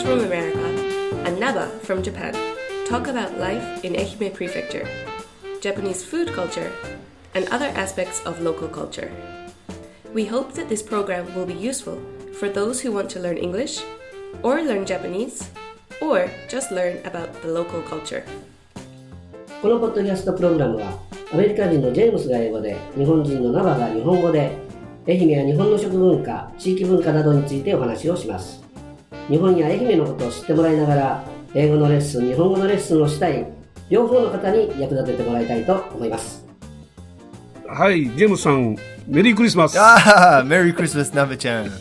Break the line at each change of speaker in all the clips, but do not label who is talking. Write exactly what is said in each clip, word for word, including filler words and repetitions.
from America, and Naba from Japan talk about life in Ehime Prefecture, Japanese food culture, and other aspects of local culture. We hope that this program will be useful for those who want to learn English, or learn Japanese, or just learn about the local culture.
このポッドキャストプログラムはアメリカ人のジェームスが英語で、日本人のナバが日本語で、愛媛や日本の食文化、地域文化などについてお話をします。日本や愛媛のことを知ってもらいながら、英語のレッスン、日本語のレッスンをしたい両方の方に役立ててもらいたいと思います。
はい、ジェームスさん、メリークリスマス。
ああ、メリークリスマス、ナベちゃん。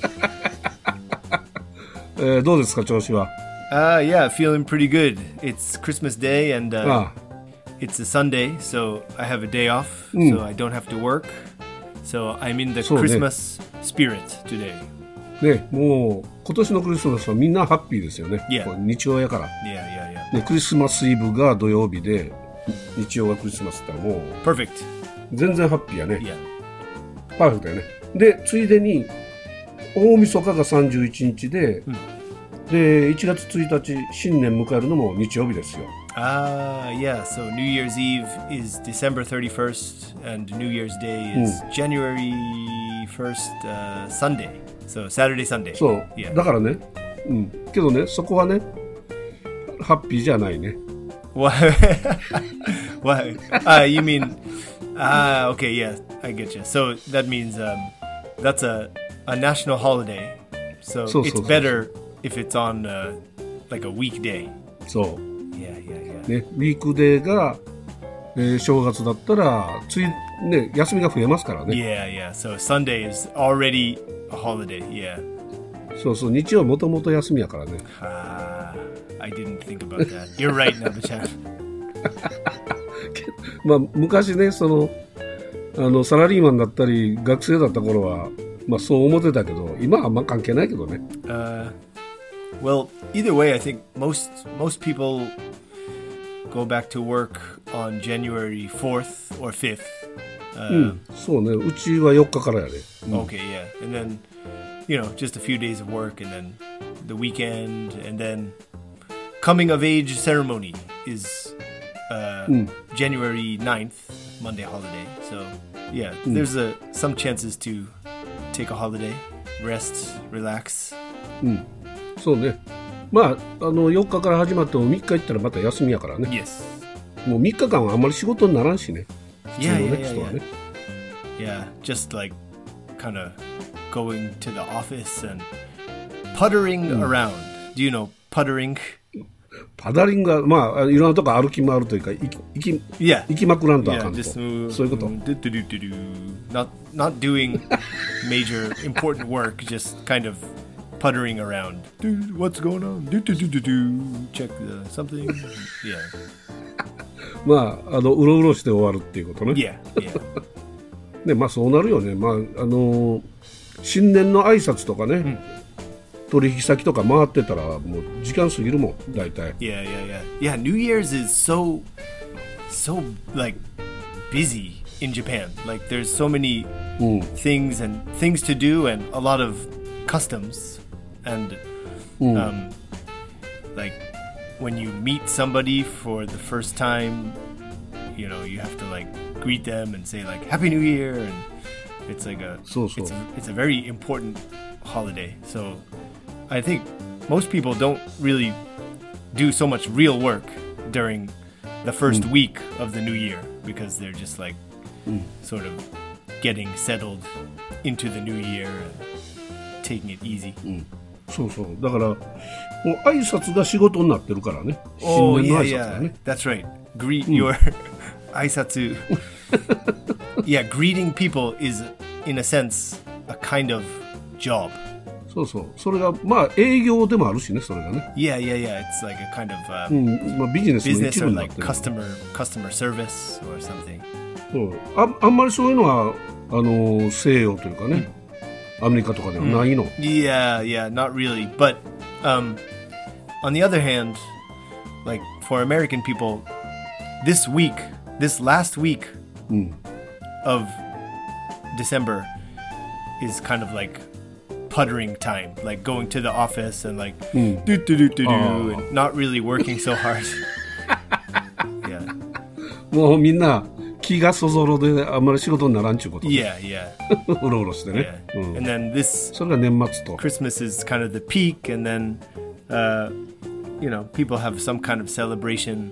えー、どうですか、調子は。
Uh, yeah, feeling pretty good. It's Christmas Day and uh, it's a Sunday, so I have a day off,
mm.
so I don't have to work. So I'm in the Christmas spirit today.
ね、もう今年のクリスマスはみんなハッピーですよね。
Yeah.
日曜やから。
Yeah, yeah, yeah.
ね、クリスマスイブが土曜日で、日曜がクリスマスってもう
Perfect.
全然ハッピーやね。
Yeah.
パーフェクトやね。で、ついでに大晦日がさんじゅういちにちで、うん、でいちがつついたち新年迎えるのも日曜日ですよ。
Ah, uh, yeah. So New Year's Eve is December thirty-first, and New Year's Day is、うん、January first, uh, Sunday. So Saturday, Sunday.
そう、yeah. だからね、うん。けどね、そこはね、ハッピーじゃないね。
What? What? Ah, you mean? Ah, okay, yeah, I get you. So that means um, that's a a national holiday. So, so it's so, better so, so. if it's on uh, like a weekday.
そう。
Yeah, yeah, yeah.
ね、ウィークデーが、えー、正月だったらついね休みが増えますからね。
Yeah, yeah. So Sunday is already a holiday. Yeah.
そうそう、日曜もともと休みやからね。
Ah, I didn't think about that. You're right, Nabe-chan.
まあ昔ね、そのあのサラリーマンだったり学生だった頃はまあそう思ってたけど、今はあんま関係ないけどね。
Uh, well, either way, I think most most people go back to work on January fourth or fifth. Uh,
うん、そうね。うちはよっかからやで。
うん、okay, yeah. And then, you know, just a few days of work, and then the weekend, and then coming of age ceremony is uh, うん、January ninth, Monday holiday. So, yeah, うん、there's a some chances to take a holiday, rest, relax.
うん、そうね。まああのよっかから始まってもみっか行ったらまた休みやからね。
Yes.
もうみっかかんはあんまり仕事にならんしね。普通のね、
yeah, yeah,
人はね。
Yeah, just like kind of going to the office and puttering、うん、around. Do you know puttering?
パダリングはまあいろんなとこ歩き回るというか行き行き、
yeah.
行きまくらんとあかんと。
Yeah, just,
そういうこと。
Do, do, do, do, do. Not not doing major important work, just kind of puttering around. Dude, what's going on? Do do do do do. Check the something. Yeah.
まああのうろうろして終わるっていうことね。
Yeah, yeah.
ね、まあそうなるよね。まああの新年の挨拶とかね、うん、取引先とか回ってたらもう時間過ぎるもん大体。
Yeah, yeah, yeah. Yeah, New Year's is so so like busy in Japan. Like there's so many、うん、things and things to do and a lot of customs and、うん、um like when you meet somebody for the first time, you know, you have to like greet them and say like Happy New Year, and it's like a,
so, so.
It's, a it's a very important holiday. So I think most people don't really do so much real work during the first mm. week of the new year because they're just like mm. sort of getting settled into the new year and taking it easy.
Mm. そうそう。だからもう挨拶が仕事になってるからね。
Oh,
新年の
yeah,
挨拶がね。
yeah. That's right. Greet、うん、your 挨拶。Yeah, greeting people is in a sense a kind of job.
そうそう。それがまあ営業でもあるしね、それがね。
Yeah, yeah, yeah. It's like a kind of、uh,
うん、まあビジネスの一部になってる。
business or like customer customer service or something.
そう。あ、あんまりそういうのはあの西洋というかね、うん、アメリカとかではないの。
Yeah, yeah, not really. But um, on the other hand, like for American people, this week, this last week、うん、of December is kind of like puttering time, like going to the office and like do do do do do and not really working so hard. Yeah.
もうみんな気がそぞろであんまり仕事にならんちゅうこと、ね。
Yeah, yeah.
うろうろしてね。
Yeah.
うん、
And then this
それが年末と。
Christmas is kind of the peak, and then uh, you know, people have some kind of celebration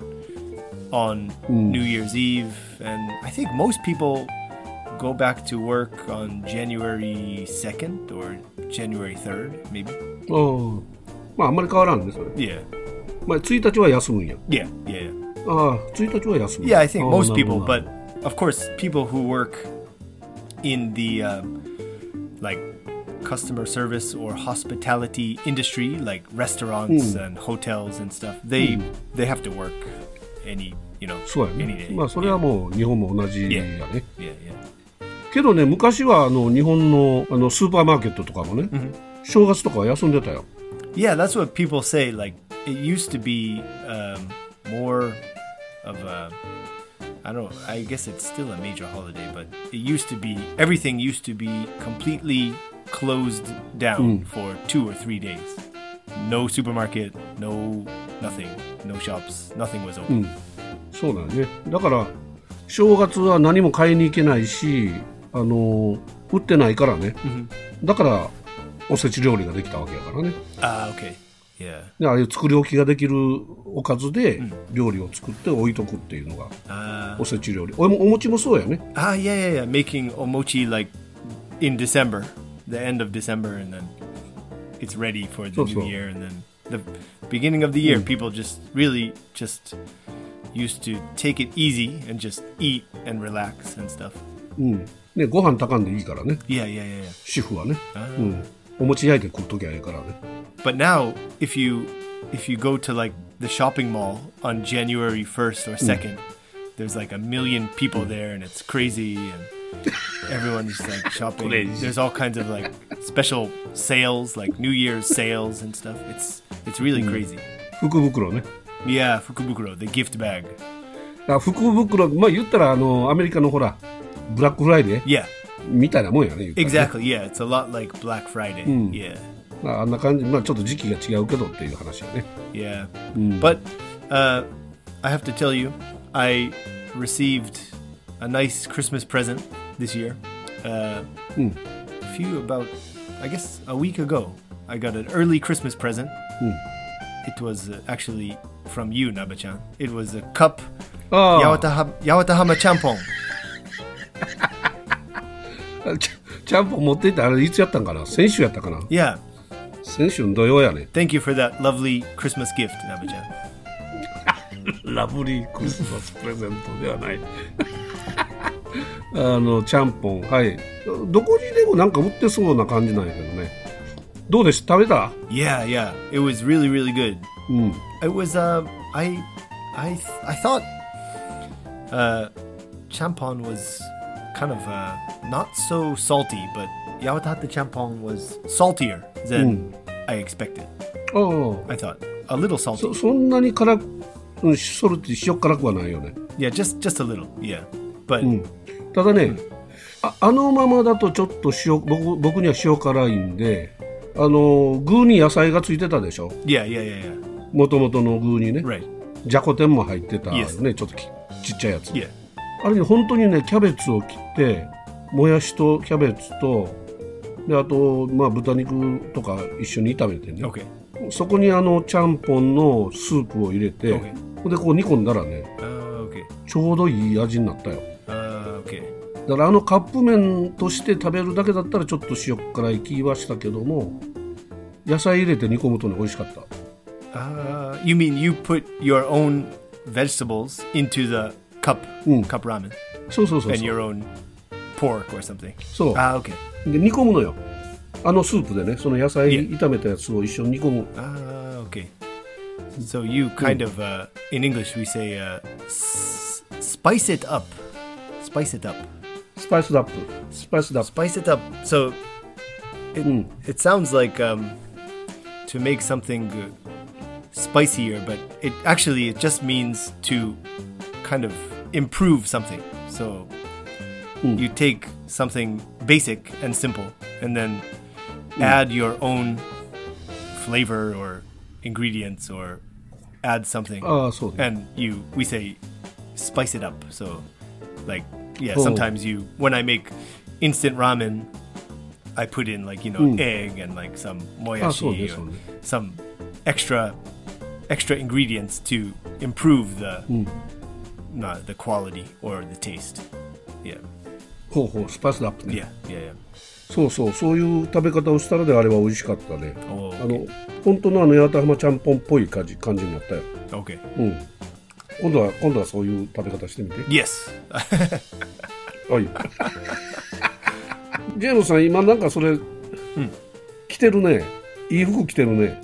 on New Year's Eve, and I think most people go back to work on January second or January third, maybe.
ああ、まああんまり変わらんねそれ。
Yeah.
まあついたちは休むんや。
Yeah, yeah, yeah.
ああ、ついたちは休む。
Yeah, I think
ああ
most
なる
people,
ほど
but of course, people who work in the uh, like customer service or hospitality industry, like restaurants and hotels and stuff, they they have to work any, you know,
そうや
any
ね。
day.
まあそれはもう日本も同じやね。
Yeah, yeah.
けどね、昔はあの日本のあのスーパーマーケットとかもね、正月とかは休んでたよ。
Yeah, that's what people say. Like, it used to be um, more of a, I don't know, I guess it's still a major holiday, but it used to be, everything used to be completely closed down for two or three days. No supermarket, no nothing, no shops, nothing was open.
そうだね。だから正月は何も買いに行けないし、あの売ってないからね。だからおせち料理ができたわけやからね。
Ah, okay. Yeah.
でああいう作り置きができるおかずで料理を作って置いとくっていうのが
Uh,
おせち料理。おもお餅もそうやね。
ah, yeah, yeah, yeah. Making omochi like in December, the end of December, and then it's ready for the
So,
new
so.
year. And then the beginning of the year, people just really just used to take it easy and just eat and relax and stuff.
うんね、ご飯炊かんでいいからね。
Yeah, yeah, yeah, yeah.
主婦はね。
Ah.
うんお餅焼いて食うときゃいいからね。
But now, if you if you go to like the shopping mall on January first or second, there's like a million people there, and it's crazy, and everyone's like shopping.
Crazy.
There's all kinds of like special sales, like New Year's sales and stuff. It's it's really crazy.
福袋ね。
Yeah, fukubukuro, the gift bag.
あ福袋、まあ言ったらあのアメリカのほらブラックフライデー
Yeah,
みたいなもんやね。言ったらね
exactly. Yeah, it's a lot like Black Friday. Yeah,
まあ、あんな感じ、まあちょっと時期が違うけどっていう話やね。
yeah. But uh, I have to tell you, I received a nice Christmas present this year. Uh, A few about, I guess, a week ago, I got an early Christmas present. It was uh, actually from you, Naba-chan. It was a cup,
ああ
Yawataha- Yawatahama champon.
ちゃちゃんぽん持っていったあれいつやったんかな。先週やったかな。
Yeah.
先週の土曜やね。
Thank you for that lovely Christmas gift, Naba-chan.
ラブリークリスマスプレゼントではない。あのちゃんぽん、はい。どこにでもなんか売ってそうな感じなんやけどね。どうでした食べた？
Yeah, yeah. It was really, really good.
うん。
It was, uh, I, I, I thought, uh, champon was kind of, uh, not so salty, but Yawatahata champon was saltier than I expected.
ああ。
I thought a little salty.
そ, そんなに辛く、うん、ソルティ塩辛くはないよね。
Yeah, just, just a little. Yeah, but
うん。ただね、あ, あのままだとちょっと塩 僕, 僕には塩辛いんで、あの具に野菜がついてたでしょ。
yeah, yeah, yeah, yeah.
もともとの具にね。
Right.
じゃこ天も入ってたよ
Yes.
ね。ちょっときちっちゃいやつ。
Yeah.
あれに本当にねキャベツを切ってもやしとキャベツとであとまあ豚肉とか一緒に炒めてね、
Okay.
そこにあのちゃんぽんのスープを入れて、
Okay.
でこう煮込んだらね
Uh, okay.
ちょうどいい味になったよ。
Uh, okay.
だからあのカップ麺として食べるだけだったらちょっと塩辛い気はしたけども野菜入れて煮込むとね美味しかった。
Uh, you mean you put your own vegetables into the cup,
Mm.
cup ramen,
そうそうそう
and
そう
your own pork or something?
そう
Ah, okay.
で煮込むのよ。あのスープでねその野菜
Yeah.
炒めたやつを一緒に煮込む。
Ah, okay. So you kind of, uh, in English, we say uh, s- spice it up. Spice it up.
スパイスダップスパイスダップ
Spice it up. So it,
Mm.
it sounds like um, to make something uh, spicier, but it actually it just means to kind of improve something. So
Mm.
you take something basic and simple, and then add your own flavor or ingredients or add something.
ああ、そうね。
And you, we say, spice it up. So, like, yeah,
Oh.
sometimes you, when I make instant ramen, I put in like, you know, egg and like some
Ah, so
moyashi
ne,
or
so ne.
some extra extra ingredients to improve the uh, the quality or the taste. Yeah.
ほうほう、スパイスアップね。
Yeah. Yeah. Yeah.
そうそう、そういう食べ方をしたらであれば美味しかったね。
Oh,
あの、本当のあの八幡浜ちゃんぽんっぽい感じ、感じになったよ。
okay.
うん。今度は、今度はそういう食べ方してみて。
Yes.
はい。ジェームスさん、今なんかそれ、着てるね。いい服着てるね。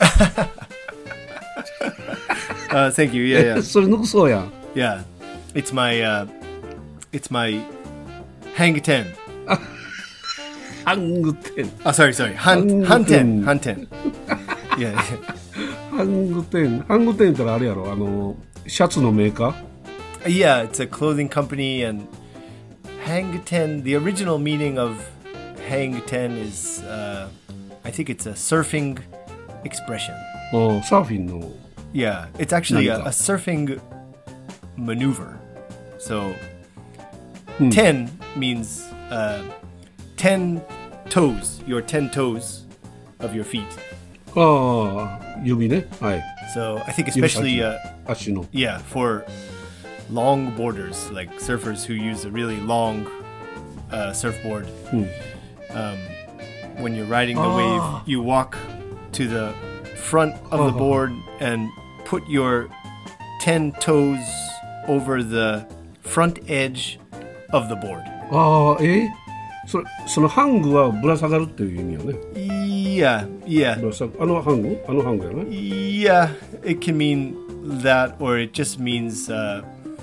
uh, thank you. Yeah. Yeah.
それ抜くそうやん。
Yeah. It's my uh, it's my hang ten.
ハングテン。
Oh, sorry, sorry. Han
Hanten.
Hanten. Hanten. Yeah.
ハングテン。ハングテンってのはあれやろ。あの、シャツのメーカー
Yeah, it's a clothing company, and hang ten. The original meaning of hang ten is, uh, I think it's a surfing expression.
うん、サーフィンの。
Yeah, it's actually a,
Nanga.
a surfing maneuver. So, ten means uh, ten toes, your ten toes of your feet.
ああ、指ね。はい。
So, I think especially, uh,
足の。
yeah, for long boarders, like surfers who use a really long uh, surfboard. Um, when you're riding the wave, you walk to the front of the board and put your ten toes over the front edge of the board.
ああ、えそれそのハングはぶら下がるっていう意味よね。
Yeah, yeah,
ぶら下があのハングあのハングやね。
yeah. It can mean that, or it just means, uh,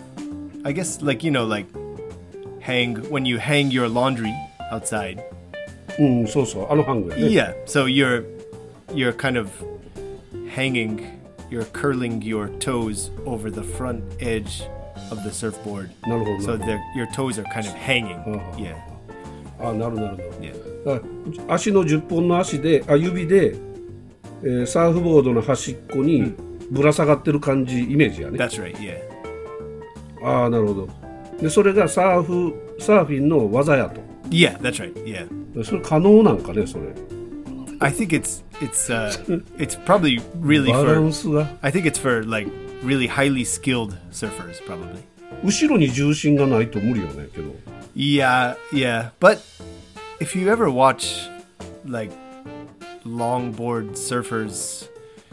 I guess, like, you know, like hang when you hang your laundry outside.
うん、そうそう、あのハングやね。
Yeah, so you're you're kind of hanging, you're curling your toes over the front edge of the surfboard.
なるほど。
So
なる
the, your toes are kind of hanging.
Uh-huh.
Yeah,
ほどあ、なるなるなる。
yeah.
だから足のじゅっぽんの足で、あ、指で、えーサーフボードの端っこにぶら下がってる感じ、イメージやね。
That's right. Yeah,
ああ、なるほど。で、それがサーフ、サーフィンの技やと。
yeah, that's right. Yeah,
それ可能なんかね、それ。
I think it's it's uh it's probably really
バラ
for.
ンスが。
I think it's for like really highly skilled surfers, probably.
後ろに重心がないと無理よね、けど。
Yeah, yeah. But if you ever watch like longboard surfers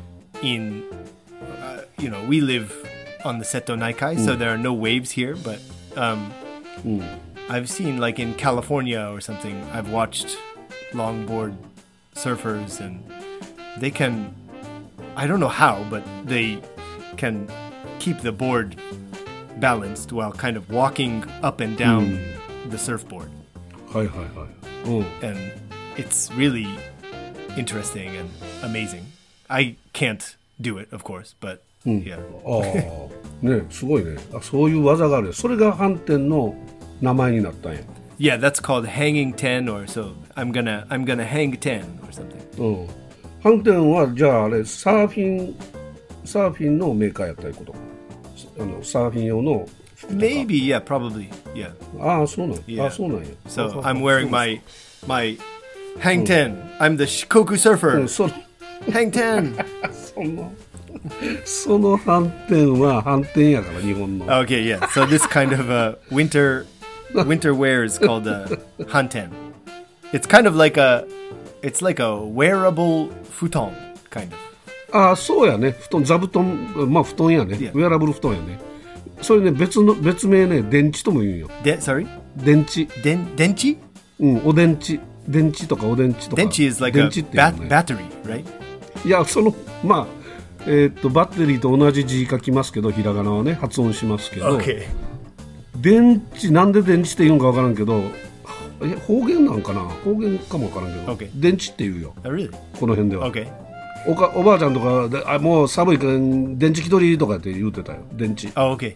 in, uh, you know, we live on the Seto Naikai, so there are no waves here. But um, I've seen like in California or something, I've watched longboard surfers, and they can, I don't know how, but they can keep the board balanced while kind of walking up and down the surfboard.
はいはいはい。うん。
And it's really interesting and amazing. I can't do it, of course, but yeah.
ああ、ね、すごいね。あ、そういう技がある。それが反転の名前になったんや。
Yeah, that's called hanging ten, or so I'm gonna I'm gonna hang ten or something.
うん。反転はじゃああれサーフィンサーフィンのメーカーやったいうこと。あのサーフィン用の服とか。
Maybe, yeah, probably, yeah.
ああ、そうなんや。
Yeah.
ああ、そうなんや。
So
ああ
I'm wearing my my hang ten. I'm the Shikoku
う
surfer.
ん、その
Hang ten.
そのその反転は反転やから日本の。
Okay, yeah. So this kind of uh, winter winter wear is called uh, hanten. It's kind of like a it's like a wearable futon, kind of.
ああ、そうやね。布団、座布団、まあ布団やね。
Yeah.
ウェアラブル布団やね。それね、別の別名ね、電池とも言うんよ。
De- sorry,
電池。
Den denchi.
うん、お電池。電池とかお電池とか。
Denchi is like
電
a
池っていう
bat-
のね。
battery, right?
いや、その、まあ、えーっと、バッテリーと同じ字書きますけど、ひらがなはね、発音しますけど、
Okay.
電池、なんで電池って言うんかわからんけど、え方言なんかな方言かもわからんけど、
Okay.
電池って言うよ、
Oh, really?
この辺では。
Okay.
おかおばあちゃんとかで、あ、もう寒いから電池気取りとかって言うてたよ、電池。
Oh, okay.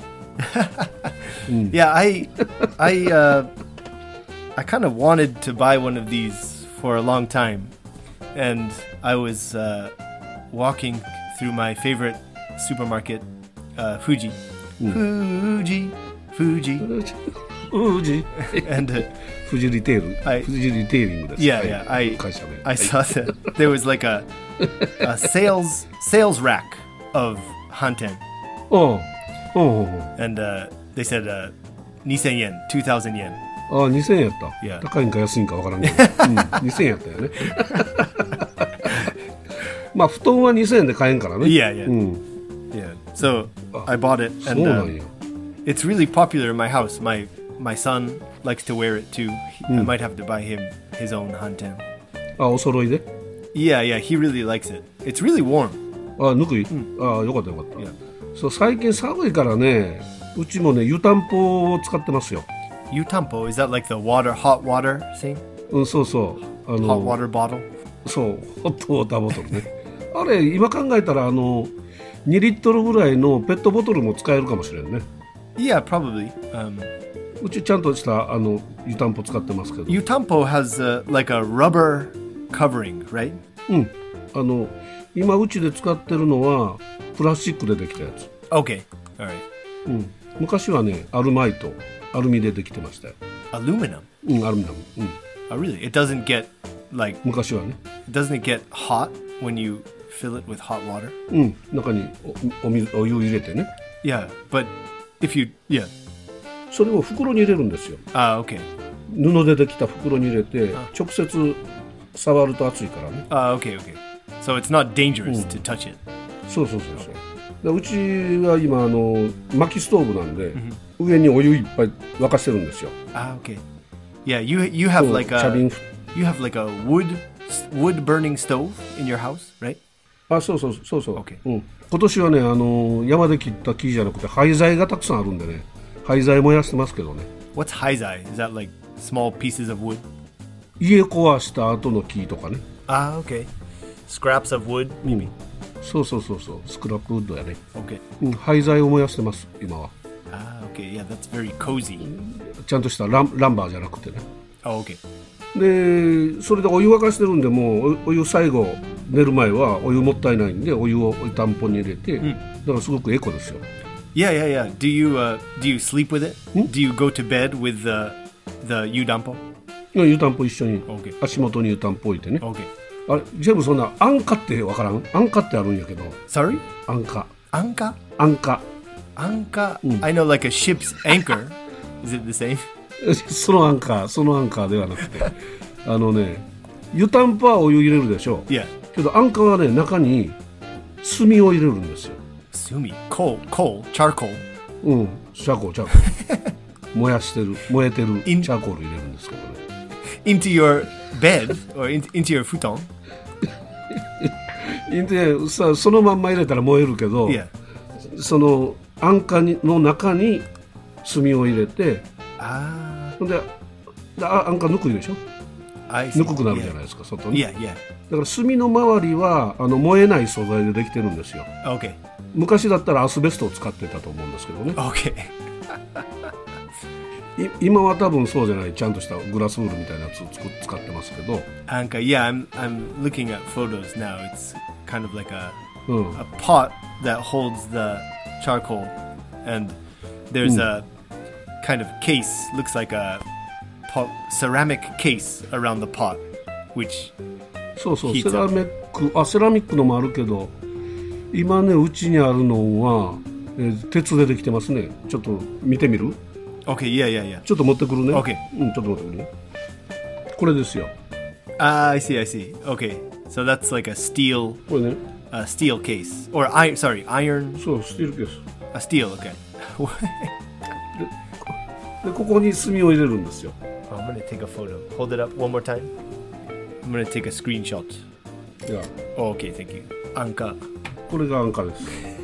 Yeah, I I uh I kind of wanted to buy one of these for a long time. and I was uh, walking through my favorite supermarket, uh, Fuji. Fuji, Fuji.
富士
And uh,
富士リテール、
はい
富士リテイリングです。
yeah,
はい
yeah, I
会社名
I saw that there was like a, a sales sales rack of hanten,
おうおうおう
and uh, they said uh, two thousand yen, two thousand yen.
ああにせんえんやった、
Yeah.
高いんか安いんかわからんけど、うん、にせんえんやったよねまあ布団はにせんえんで買えんからね。
Yeah, yeah,
うん、
yeah. So I bought it,
そう
and
な
uh,
んや。
it's really popular in my house. My my son likes to wear it too. He, I might have to buy him his own hanten.
あお揃いで
Yeah, yeah, he really likes it. It's really warm.
あぬくい、あよかったよかった、
Yeah.
そう最近寒いからねうちもね湯たんぽを使ってますよ。
Yutampo, is that like the water, hot water thing?
うんそうそうあ
Hot
の
water bottle?
そうホットウォーターボトルねあれ今考えたらあのにリットルぐらいのペットボトルも使えるかもしれんね。
Yeah, probably. Um,
うちちゃんとしたあの湯たんぽ使ってますけど、
Yutampo has uh, like a rubber covering, right?
うんあの今うちで使ってるのはプラスチックでできたやつ、
Okay, all right.
うん、昔はねアルマイトアルミでできてましたよ。
Aluminum.
うんアルミナム、うん、
Oh, really? It doesn't get like,
昔はね
doesn't it get hot when you fill it with hot water?
うん中におお水お湯入れてね
Yeah, but if you, yeah.
それを袋に入れるんですよ。
Ah, okay.
布でできた袋に入れて直接触ると熱いからね。
Ah, okay, okay. So it's not dangerous to touch it.
そうそうそうそうでうちは今あの薪ストーブなんで、上にお湯いっぱい沸かしてるんですよ。
Ah, okay. Yeah, you you have
そう
like
茶
a
瓶
you have like a wood wood burning stove in your house, right?
あそうそうそうそう、
OK
うん、今年はねあの山で切った木じゃなくて廃材がたくさんあるんでね廃材燃やしてますけどね。
What's haizai? Is that like small pieces of wood?
家壊した後の木とかね。
Ah, okay. Scraps of wood, maybe.
そうそうそうそうスクラップウッドやね、
Okay.
うん、廃材を燃やしてます今は。
Ah, okay. Yeah, that's very cozy.
ちゃんとしたランランバーじゃなくてね。
Oh, okay.
でそれでお湯沸かしてるんでもうおお湯最後寝る前はお湯もったいないんでお湯を湯たんぽに入れて、だからすごくエコですよ。
Yeah, yeah, yeah. Do you uh do you sleep with it? Do you go to bed with the the yudampo?
湯たんぽ一緒に
Okay.
足元に湯たんぽ置いてね。
Okay.
あれ全部そんな安価ってわからん。安価ってあるんやけど
Sorry?
安価
Anka?
安価
Anka? I know like a ship's anchor. Is it the same?
そのアンカーそのアンカーではなくてあのね湯たんぽはお湯入れるでしょ。
Yeah.
けどアンカーはね中に炭を入れるんですよ。
Sumi. Coal. Coal. Charcoal.
うんチャーコールチャーコール燃やしてる燃えてるチ
In-
ャーコール入れるんですけどね。
Into your bed or in, into your futon.
でさそのまんま入れたら燃えるけど、
Yeah.
そのアンカにの中に炭を入れて
Ah.
ほんでであアンカ抜くでしょ。
I see.
ぬくくなるじゃないですか外に。
Yeah, yeah.
だから炭の周りはあの燃えない素材でできてるんですよ。
Okay.
昔だったらアスベストを使ってたと思うんですけどね。
Okay.
い今は多分そうじゃないちゃんとしたグラスウールみたいなやつをつく使ってますけど、
Anka. Yeah, I'm I'm looking at photos now. It's kind of like a
うん
a pot that holds the charcoal, and there's a kind of case. Looks like a pot, ceramic case around the pot, which
そうそう
Heat
セラミックあセラミックのもあるけど今ねうちにあるのは、えー鉄でできてますね。ちょっと見てみる。
okay. Yeah, yeah, yeah.
ちょっと持ってくるね。
OK
うんちょっと持ってくるね。これですよ
Ah, I see, I see. Okay, so that's like a steel,
これね。
a steel case, or iron. Sorry, iron.
そうスティールケース
A steel. Okay.
でここに炭を入れるんですよ。
I'm gonna take a photo. Hold it up one more time. I'm gonna take a screenshot.
いや
Oh, okay, thank you. Anka.
これがアンカです。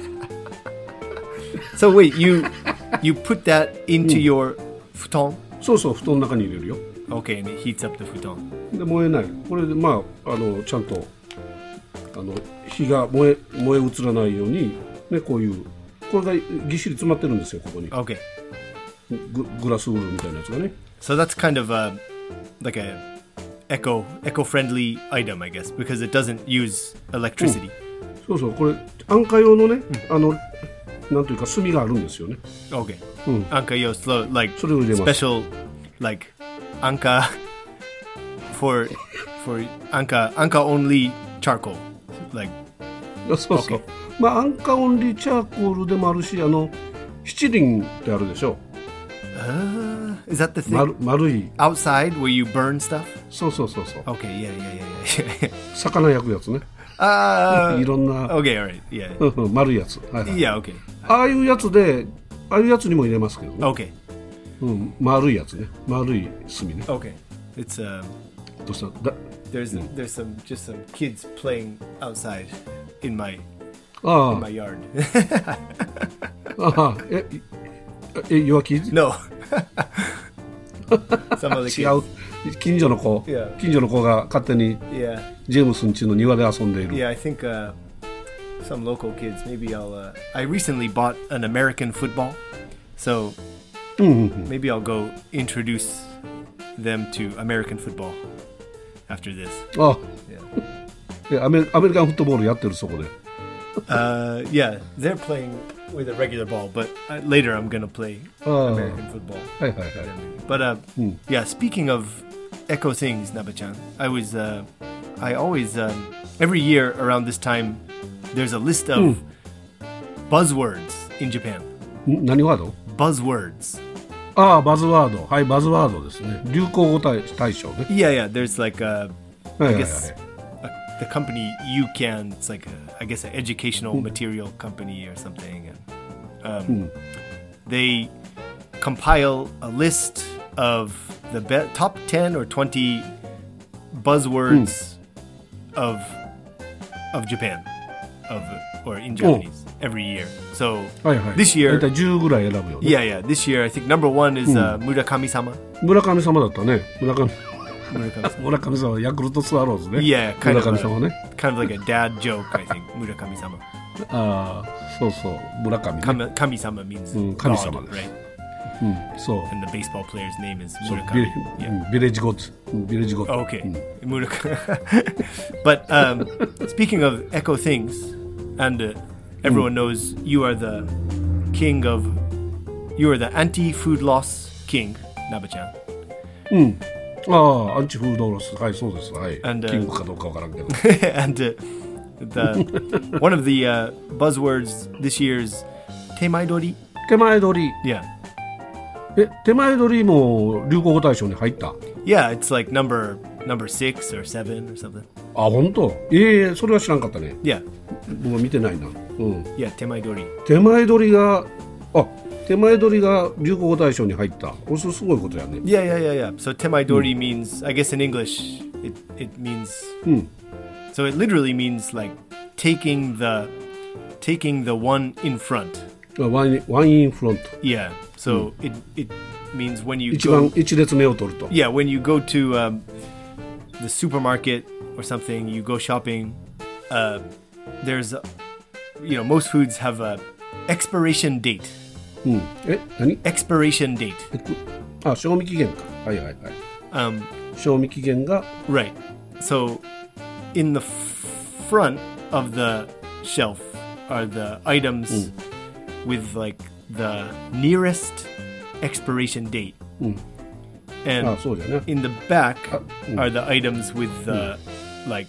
So wait, you you put that into your futon?
そうそう布団の中に入れるよ。
Okay, and it heats up the futon.
で燃えない。これでまああのちゃんとあの火が燃え燃え移らないようにねこういうこれがぎっしり詰まってるんですよここに。
Okay,
ググラスウールみたいなやつがね。
so that's kind of a like a eco eco-friendly item, I guess, because it doesn't use electricity.
そうそう、これ安価用のね、あのなんというか炭があるんですよね。
Okay.
うん。
Anka yo, so like
それを入れます。
special like Anka for for Anka Anka only charcoal. Like
そうそう。
Okay.
まあ安価オンリーチャーコールでもあるし、あの七輪ってあるでしょ。
uh, is that the thing?
丸丸い。
Outside where you burn stuff?
そうそうそうそう。
Okay, yeah, yeah, yeah, yeah.
魚焼くやつね。
uh,
いろんな。
Okay, all right. Yeah.
うんうん、丸いやつ。はいはい。
Yeah, okay.
ああいうやつで、ああいうやつにも入れますけどね。
Okay.
うん、丸いやつね。丸い炭ね。
Okay. It's um
どうしただ
there's there's some just some kids playing outside in my
あ
in
あ
my yard.
ああ、え、え、弱気
No. Some of the
違
kids.
う。近所の子、
Yeah.
近所の子が勝手に
Yeah.
ジェームスん家の庭で遊んでいる。
Yeah, I think uh, some local kids. Maybe I'll. Uh, I recently bought an American football, so
うんうんうん。
maybe I'll go introduce them to American football after this.
あ、
Yeah.
えアメリアメリカンフットボールやってるそこで。
Uh, yeah, they're playing with a regular ball, but uh, later I'm gonna play
Oh.
American football.
はいはいはい。
But uh,
Hmm.
yeah, speaking of echo things, Naba-chan, I was, uh, I always, um, every year around this time, there's a list of buzzwords in Japan.
ん何ワード？
Buzzwords.
ああ、バズワード。はい、バズワードですね。流行語大大賞ね。
Yeah, yeah. There's like, uh,
はい
I
はいはい。
guess, uh, the company UCAN. It's like, a, I guess, an educational material company or something. And um, they compile a list of the be- top ten or twenty buzzwords of of Japan, of or in Japanese every year. So
はいはい。
this year,
大体じゅうぐらい選ぶよね。
yeah, yeah. This year, I think number one is uh, Murakami-sama.
村上様だったね。村上
Murakami-sama.
村上様、ヤクルトスワローズね。
Yeah, kind
村
of
上
a,
様ね。
kind of like a dad joke, I think. Murakami-sama.
ああ、そうそう、村上ね。
Kami- Kami-sama means
Mm,
God,
Kami-sama.
right?
うん、そう。
And the baseball player's name is
そう
Murakami.
ビレ
Yeah.
うんビレッジゴッツ。うんビレッジゴッツ。
Oh, okay.
うん
Murakami. But um, speaking of echo things, and uh, everyone knows you are the king of, you are the anti-food loss king, Naba-chan.
うん。ああ、アンチフードロス。はい、そうです。はい。
And, uh,
キングかどうかわからんけど。
and uh, the one of the uh, buzzwords this year's temaidori.
手前取り。
Yeah.
え、手前取りも流行語大賞に入った。
Yeah, it's like number number six or seven or something.
あ、本当。ええそれは知らんかったね。
Yeah,
僕は見てないな。うん。
yeah, temaidori.
手前取りが、あ、手前取りが流行語大賞に入った。これすごいことやね。
Yeah, yeah, yeah, yeah. So temaidori means, I guess in English, it it means.
うん。
So it literally means like taking the taking the one in front.
ワインワインフロント。
Yeah. So it it means when you
一番
go.
一列目を取ると。
Yeah, when you go to um, the supermarket or something, you go shopping. Uh, there's, a, you know, most foods have a expiration date.
うん。え、何？
Expiration date.
えくあ、賞味期限か。はいはいはい。
Um,
賞味期限が、
right. So in the f- front of the shelf are the items with like the nearest expiration date.
あ、
And
そうじゃね。
in the back
Uh, mm.
are the items with the like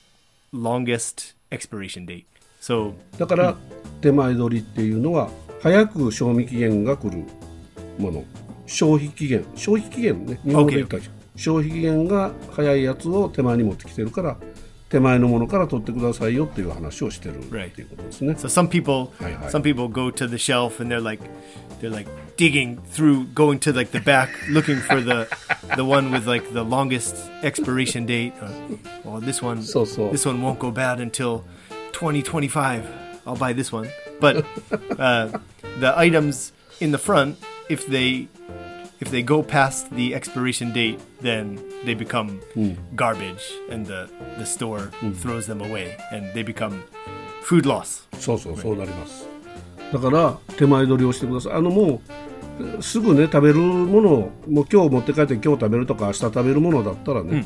longest expiration date. So
だから手前取りっていうのは早く賞味期限が来るもの。消費期限、消費期限ね。日本語で言ったら消費期限が早いやつを手前に持ってきてるから、手前のものから取ってくださいよっていう話をしてるっていうことですね。
so some people
Hi, hi.
some people go to the shelf and they're like they're like digging through, going to like the back looking for the the one with like the longest expiration date. Or, well, this one
So, so.
this one won't go bad until twenty twenty-five. I'll buy this one. But uh, the items in the front, if they if they go past the expiration date, then they become garbage, and the the store throws them away, and they become food loss.
そうそうそうなります。だから手前取りをしてください。あのもうすぐね食べるものをもう今日持って帰って今日食べるとか明日食べるものだったらね、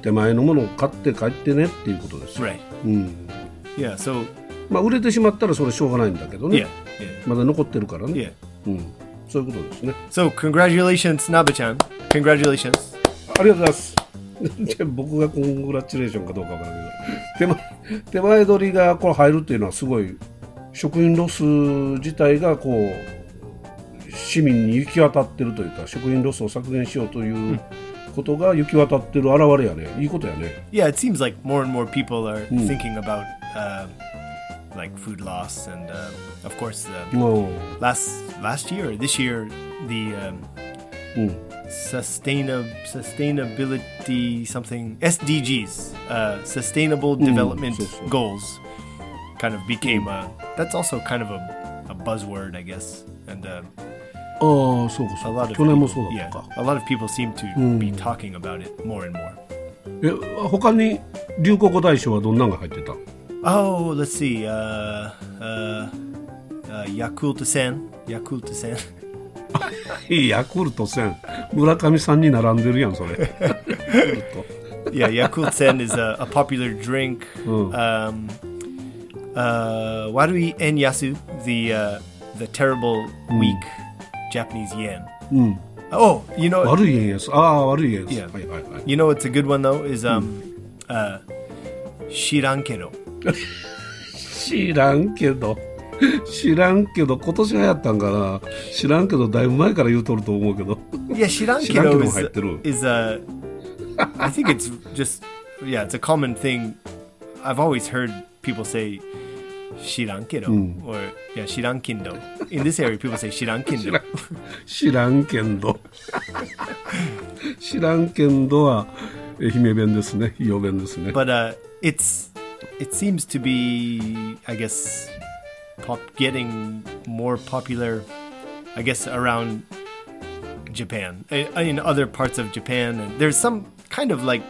手前のものを買って帰ってねっていうことですよ、
Right.
うん、
Yeah, so
まあ売れてしまったらそれしょうがないんだけどね、
yeah, yeah.
まだ残ってるからね、
Yeah.
うん、そういうことですね。
So congratulations, Nabe-chan. Congratulations.
ありがとうございますじゃあ僕がコングラチュレーションかどうかわからないけど、手前、手前取りがこれ入るっていうのはすごい、食品ロス自体がこう市民に行き渡ってるというか、食品ロスを削減しようということが行き渡ってる表れやね。いいことやね。
Yeah, it seems like more and more people are thinking about uh, like food loss, and uh, of course, uh,
も
last last year, this year, the um,
う、うん、
sustainab sustainability something S D Gs, uh, Sustainable Development
so, so.
Goals, kind of became a. That's also kind of a, a buzzword, I guess, and. Uh,
ああ、そうか
A
そう
lot
か。
of
去年も
people,
そうだった
yeah,
か。
a lot of people seem to be talking about it more and more.
え、他に流行語大賞はどんなのが入ってた？
Oh, let's see. Uh, uh, uh, Yakult Sen. Yakult Sen.
ヤクルトせん。村上さんに並んでるやん、それ。
Yeah, Yakult Sen is a, a popular drink.
Oh.
Um, uh, Warui En Yasu, the uh, the terrible weak Japanese yen.
うん。
Oh, you know,
悪い円安。ああ、悪い円安。
Yeah.
はいはいはい。
you know what's a good one though is um, uh, Shirankero.
知らんけど。知らんけど、今年流行ったんかな。知らんけど、だいぶ前から言うとると思うけど。
Yeah,
Shirankero
Shirankero
も入ってる。
is, is a. I think it's just yeah, it's a common thing. I've always heard people say Shirankero or yeah, Shirankindo. In this area, people say Shirankindo.
知らんけんど。知らんけんどは愛媛弁ですね。伊予弁ですね。
But uh, it's it seems to be, I guess, pop getting more popular. I guess around Japan, uh, in other parts of Japan, and there's some kind of like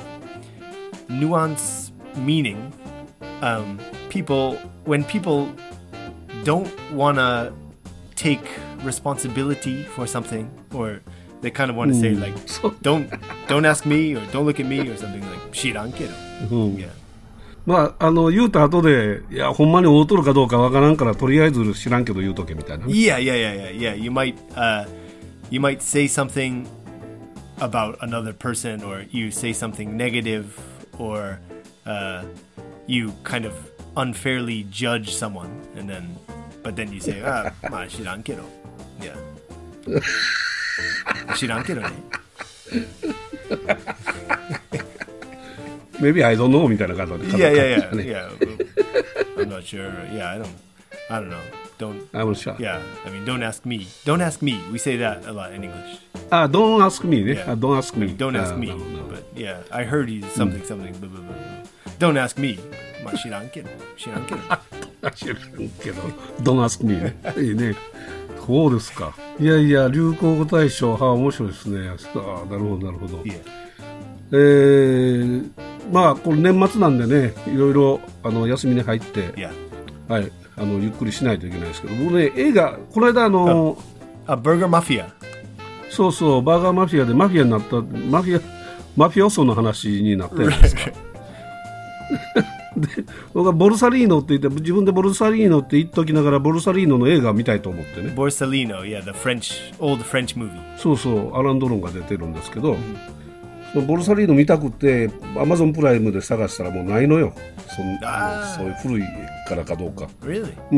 nuance meaning. Um, people when people don't want to take responsibility for something, or they kind of want to say like, don't don't ask me, or don't look at me, or something like shirankedo. Yeah.
まあ、あの言うた後で、いやほんまに会うとるかどうかわからんからとりあえず知らんけど言うとけみたいな、ね。
Yeah, yeah, yeah, yeah, yeah. You might, uh, you might say something about another person, or you say something negative, or uh, you kind of unfairly judge someone, and then, but then you say, ah, ma shirankedo. Yeah. Shirankedo ne.
Maybe I don't know みたいな感じで。
Yeah, yeah, yeah, yeah. I'm not sure. Yeah, I don't, I don't know. Don't.
I'm not sure.
Yeah, I mean, don't ask me. Don't ask me. We say that a lot in English.
あ、don't ask me ね。
Yeah.
あ、don't ask me.
Don't ask
あ
me.
なるほどなるほど
But yeah, I heard he's something, something. Blah, blah, blah, blah. Don't ask me. まあ知らんけど。知らんけど。
知らんけど、don't ask me ね。いいね。そうですか。いやいや、流行語大賞、はあ、面白いですね。ああ、なるほど、なるほど。
Yeah.
えー、まあ、これ年末なんでね、いろいろあの休みに入って、
Yeah.
はい、あのゆっくりしないといけないですけど、僕ね、映画、この間、あの、
A Burger Mafia.
そうそう、バーガーマフィアでマフィアになった、マフィア、マフィオソの話になってるんですか。で僕はボルサリーノって言って自分でボルサリーノって言っときながらボルサリーノの映画見たいと思ってね。
Borsalino, yeah, the French, old French movie.
そうそうアラン・ドロンが出てるんですけど、そのボルサリーノ見たくてアマゾンプライムで探したらもうないのよ。そんあのそういう古いからかどうか、
Really?
うん、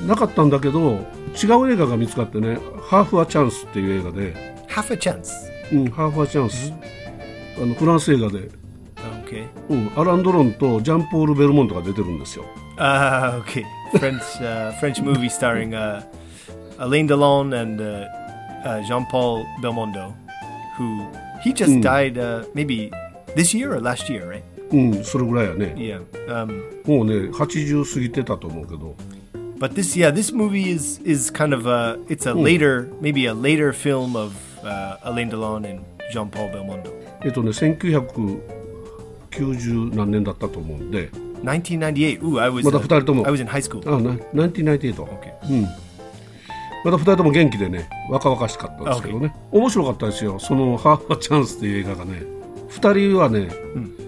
なかったんだけど違う映画が見つかってね、ハーフ・ア・チャンスっていう映画で、
Half a chance.
うん、ハーフ・ア・チャンス、あのフランス映画で、
Okay.
うん、アラン・ドロンとジャンポール・ベルモントが出てるんですよ。
Uh, okay. French, uh, French movie starring uh, Alain Delon and uh, uh, Jean-Paul Belmondo, who he just died uh, maybe this year or last year, right?
うん、それぐらいやね。
Yeah. Um,
もうね、はちじゅう過ぎてたと思うけど。
but this, yeah, this movie is is kind of a, it's a later, maybe a later film of uh, Alain Delon and Jean-Paul Belmondo.
えっとね、せんきゅうひゃくきゅうじゅう何年だったと思うんで。
nineteen ninety-eight. Ooh, I was.
まだふたりとも。
I was in high school.
あ、な、ナインティーナインティーエイト。
Okay.
うん。まだふたりとも元気でね、若々しかったんですけどね。面白かったですよ。そのハーフ・ア・チャンスっていう映画がね。ふたりはね、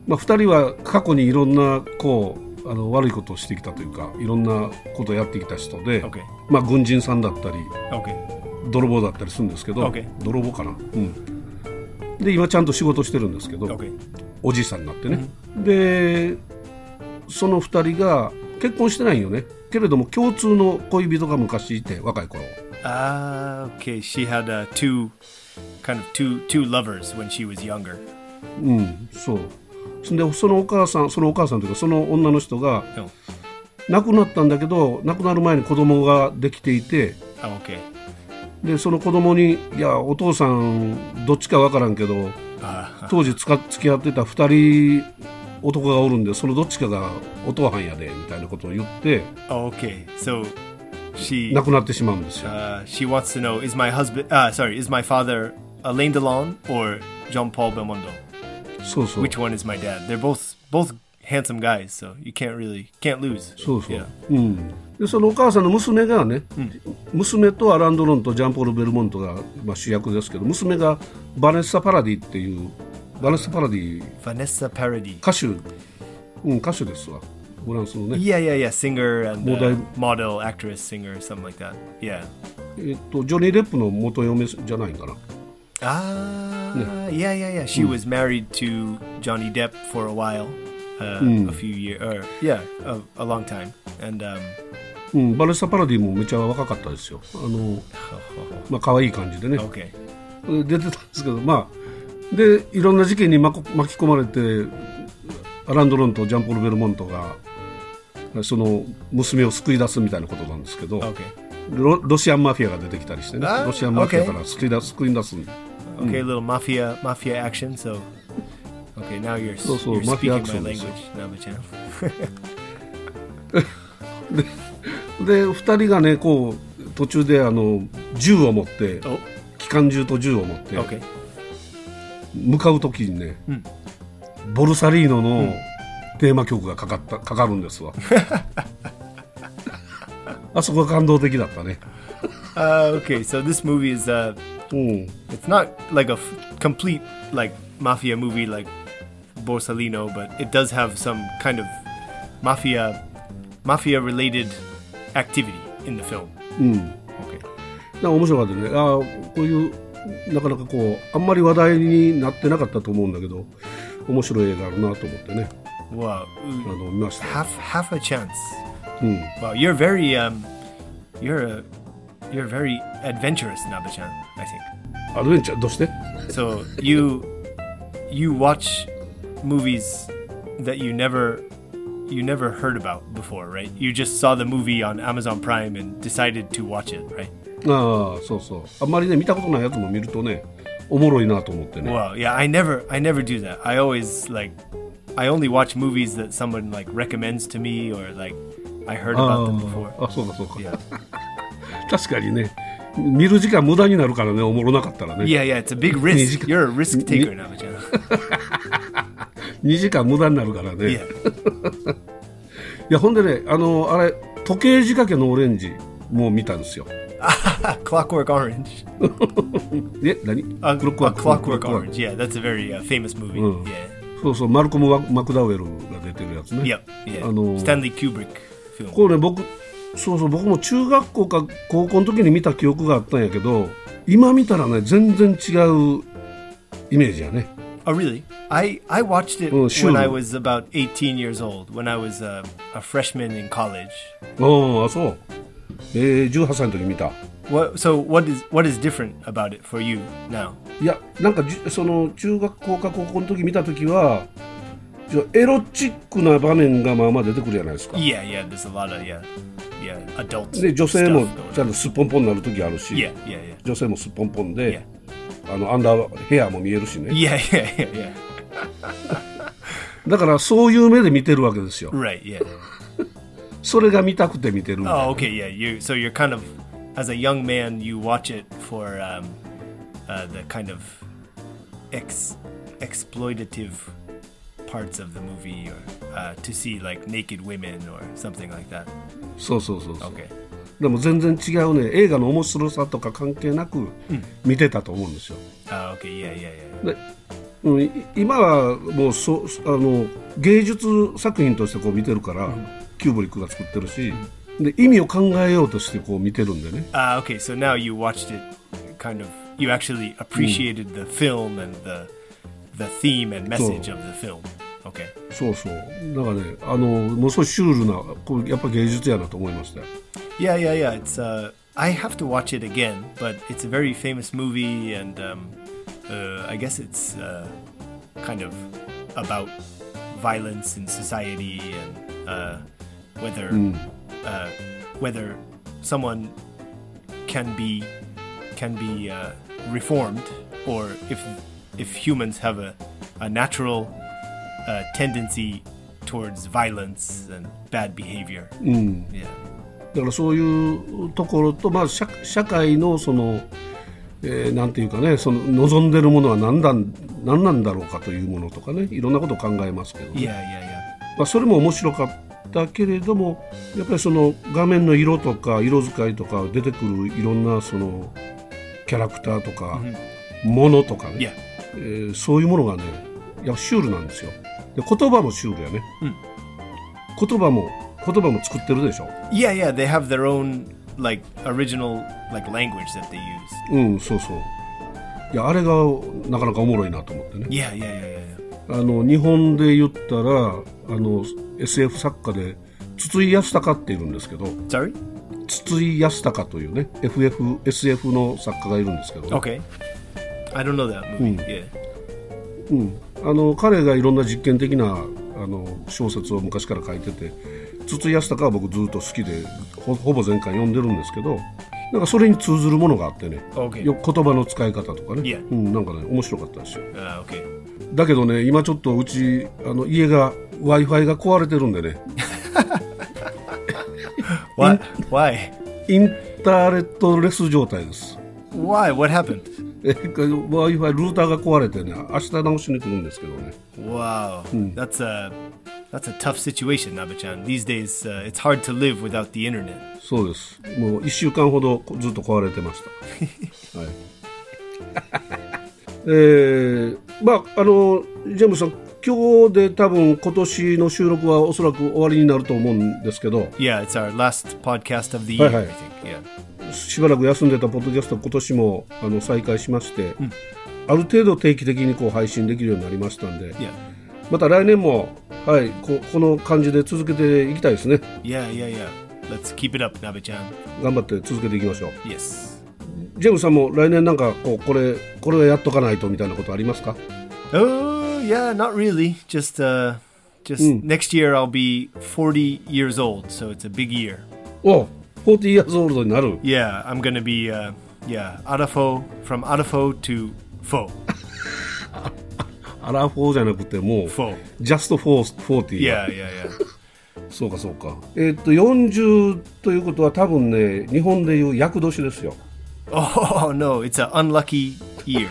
まあ、ふたりは過去にいろんなこうあの悪いことをしてきたというかいろんなことをやってきた人で、
Okay.
まあ、軍人さんだったり、
Okay.
泥棒だったりするんですけど、
Okay.
泥棒かな、うん、で今ちゃんと仕事してるんですけど、
Okay.
おじいさんになってね、うん、でそのふたりが結婚してないよねけれども共通の恋人が昔いて若い頃。
Ah, okay. She had uh, two kind of two two lovers when she was younger.
うん、そう。でそのお母さん、そのお母さんというかその女の人が亡くなったんだけど、亡くなる前に子供ができていて、
oh, okay.
でその子供にいやお父さんどっちかわからんけど、当時つか付き合ってたふたり男がおるんでそのどっちかがお父さんやでみたいなことを言って、
oh, okay. So she
亡くなってしまうんですよ。
Uh, she wants to know is my husband, uh, sorry, is my father Alain Delon or Jean-Paul Belmondo?
そうそう。
Which one is my dad? They're both both handsome guys, so you can't really can't lose.
そうそう。
Yeah.
うん。でそのお母さんの娘がね、うん、娘とアラン・ドロンとジャンポール・ベルモントが、まあ、主役ですけど、娘がバネッサ・パラディっていうバネッサ・パラディ。
バネッサ・パラディ。
歌手、うん歌手ですわ。フランスのね。
Yeah, yeah, yeah. Singer and uh, model, actress, singer, something like that. Yeah.
えっとジョニー・デップの元嫁じゃないかな。
Ah, yeah, yeah, yeah. She、うん、was married to Johnny Depp for a while, uh, うん、a few years, or yeah, a, a long time, and um.
うん、バネッサ・パラディもめちゃ若かったですよ。あの、まあ可愛い感じでね。
Okay.
出てたんですけど、まあでいろんな事件に巻き込まれて、アラン・ドロンとジャンポール・ベルモントがその娘を救い出すみたいなことなんですけど、
okay.
ロ, ロシアンマフィアが出てきたりしてね、ロシアンマフィアから救い出す、救い出す。
Okay, a little mafia mafia action. So, okay, now you're, そうそう you're speaking my language, Naba-chan.
で、でふたりがね、こう途中であの銃を持って、oh. 機関銃と銃を持って、
okay.
向かうときにね、うん、ボルサリーノの、うん、テーマ曲がかかったかかるんですわ。あそこが感動的だったね。
uh, okay, so this movie is uh, mm. it's not like a f- complete like mafia movie like Borsalino, but it does have some kind of mafia mafia related activity in the film.
うん。Okay. なんか面白かったね。あこういうなかなかこうあんまり話題になってなかったと思うんだけど、面白い映画あるなと思ってね。
Wow.
あの見ました。
Half half a chance.
うん。
Wow, you're very um, you're a you're very adventurous, Naba-chan, I think.
アドベンチャーどうして？
So you you watch movies that you never you never heard about before, right? You just saw the movie on Amazon Prime and decided to watch it, right?
ああ、そうそう。あんまりね見たことないやつも見るとね、おもろいなと思ってね。
Wow, yeah, I never I never do that. I always like I only watch movies that someone like recommends to me or like I heard about them before.
あ、そうかそうか。Yeah. 確かにね、見る時間無駄になるからね、おもろなかったらね。
Yeah, yeah, it's a big risk. You're a risk taker, Naba-chan.
にじかん無駄になるからね。
Yeah.
いや、ほんでね、あのあれ時計仕掛けのオレンジも見たんですよ。
Clockwork Orange.
え、何？
A, a Clockwork Orange. Yeah, that's a very、uh, famous movie.、うん、yeah.
そうそう、マルコム・マクダウエルが出てるやつね。
Yep, yeah. あのスタンリー・キューブリックフィルム。
これね、僕、そうそう、僕も中学校か高校の時に見た記憶があったんやけど、今見たらね、全然違うイメージやね。
Oh, really? I, I watched it、うん、when I was about eighteen years old, when I was a, a freshman in college.
ああ、そう。えー、じゅうはっさいの時見た。
What, so what is, what is different about it for you now?
いや、なんかその中学校か高校の時見た時はエロチックな場面がまあまあ出てくるじゃないですか。
Yeah, yeah, there's a lot of, yeah, yeah, adult
で女性もちゃんとすっぽんぽんになる時あるし、
yeah, yeah, yeah.
女性もすっぽんぽんで、yeah. あのアンダーヘアも見えるしね。
Yeah, yeah, yeah, yeah.
だからそういう目で見てるわけですよ。
Right, yeah.
それが見たくて見てるんだよ。
Oh, okay, yeah. You, so you're kind of, as a young man, you watch it for um, uh, the kind of ex exploitative parts of the movie, or uh, to see like naked women or something like that.
そうそうそうそう。
Okay.
でも全然違うね。映画の面白さとか関係なく見てたと思うんですよ。
あ、うん、okay, yeah, yeah, yeah.
で、 うん、今はもうそあの芸術作品としてこう見てるから、うん、キューブリックが作ってるし、うん、で意味を考えようとしてこう見てるんでね。
Ah, okay. So now you watched it, kind of. You actually appreciated、うん、the film and the the theme and message of the film. Okay.
そうそう。だからね、あのものすごいシュールな、これやっぱ芸術やなと思いましたよ。
Yeah, yeah, yeah. It's uh, I have to watch it again, but it's a very famous movie, and um, uh, I guess it's uh, kind of about violence in society and uh, whether
mm.
uh, whether someone can be can be uh, reformed, or if if humans have a a natural uh, tendency towards violence and bad behavior.
Mm.
Yeah.
だからそういうところと、まあ、社, 社会のその、えー、なんていうかね、その望んでるものは何だ、何なんだろうかというものとかね、いろんなことを考えますけど、ね、
いやいやいや、
まあ、それも面白かったけれども、やっぱりその画面の色とか色使いとか出てくるいろんなそのキャラクターとか、うん、ものとかね、
yeah.
えー、そういうものがね、いやシュールなんですよ。で言葉もシュールやね、うん、言葉も言葉も作ってるでしょ。
Yeah, yeah, they have their own like original like language that they use.
うん、そうそう。いやあれがなかなかおもろいなと思ってね。
Yeah, yeah, yeah,
yeah. あの日本で言ったらあの エスエフ 作家で筒井康隆っているんですけど。
Sorry?
筒井康隆というね エフエフ エスエフ の作家がいるんですけど。
Okay. I don't know that movie.、うん
yeah. うん、あの彼がいろんな実験的なあの小説を昔から書いてて。筒井康隆は僕ずっと好きで ほ, ほぼ全巻読んでるんですけど、なんかそれに通ずるものがあってね、
okay.
よ言葉の使い方とかね、
yeah.
うん、なんかね面白かったですよ、
uh, okay.
だけどね今ちょっとうちあの家が Wi-Fi が壊れてるんでね
What? Why?
インターネットレス状態です。
Why? What happened?
Wi-Fi ルーターが壊れてね明日直しに来るんですけどね。
Wow、うん、That's a That's a tough situation, Nabe-chan. These days, uh, it's hard to live without the internet.
そうです。もういっしゅうかんほどずっと壊れてました。はい。えー、まああのジェームスさん、今日で多分今年の収録はおそらく終わりになると思うんですけど。
Yeah, it's our last podcast of the year, I think. Yeah.
しばらく休んでたポッドキャスト今年もあの再開しまして、うん、ある程度定期的にこう配信できるようになりましたんで。
Yeah.
また来年も、はい、こ, この感じで続けていきたいですね。
Yeah, yeah, yeah. Let's keep it up, Nabe-chan.
頑張って続けていきましょう。
Yes.
ジェームスさんも来年なんかこうこれこれはやっとかないとみたいなことありますか？
Oh, yeah, not really. Just, uh, just、うん、next year I'll be forty years old, so it's a big year.
お、forty years old になる。
Yeah, I'm gonna be, uh, yeah, Arafo, from Arafo to Fo.
アラフォーじゃなくてもう Just for フォーティー
いやいやいや
そうかそうか。えー、っとよんじゅうということは多分ね日本でいう厄年ですよ。
Oh no, it's an unlucky year.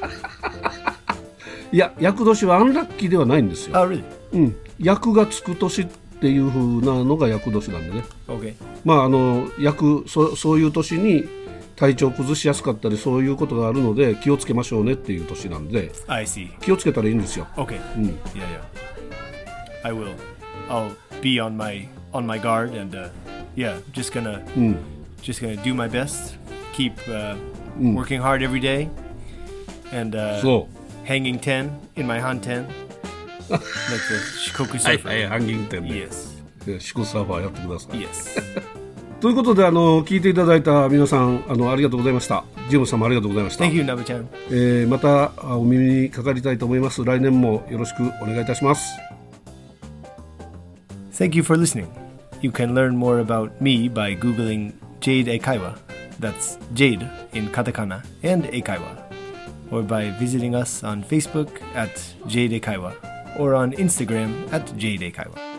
いや厄年はアンラッキーではないんですよ。
Oh really?
うん、厄がつく年っていう風なのが厄年なんでね。
Okay.
まああの厄 そ, そういう年に体調崩しやすかったりそういうことがあるので気をつけましょうねっていう年なんで
I see.
気をつけたらいいんですよ。
Okay、うん、Yeah, yeah. I will. I'll be on my, on my guard and、uh, yeah, just gonna、うん、just gonna do my best. Keep、uh, うん、working hard every day and、uh, そう hanging ten in my hanten like the Shikoku surfer.
はいはい、hanging ten で
Yes.
シコサーファーやってください。
Yes.
ということであの聞いていただいた皆さんあのありがとうございました。ジェームスさんもありがとうございました。
Thank you, Nabe-chan、
えー、またお耳にかかりたいと思います。来年もよろしくお願いいたします。
Thank you for listening. You can learn more about me by googling Jade Eikaiwa. That's Jade in katakana and Eikaiwa. Or by visiting us on Facebook at Jade Eikaiwa or on Instagram at Jade Eikaiwa.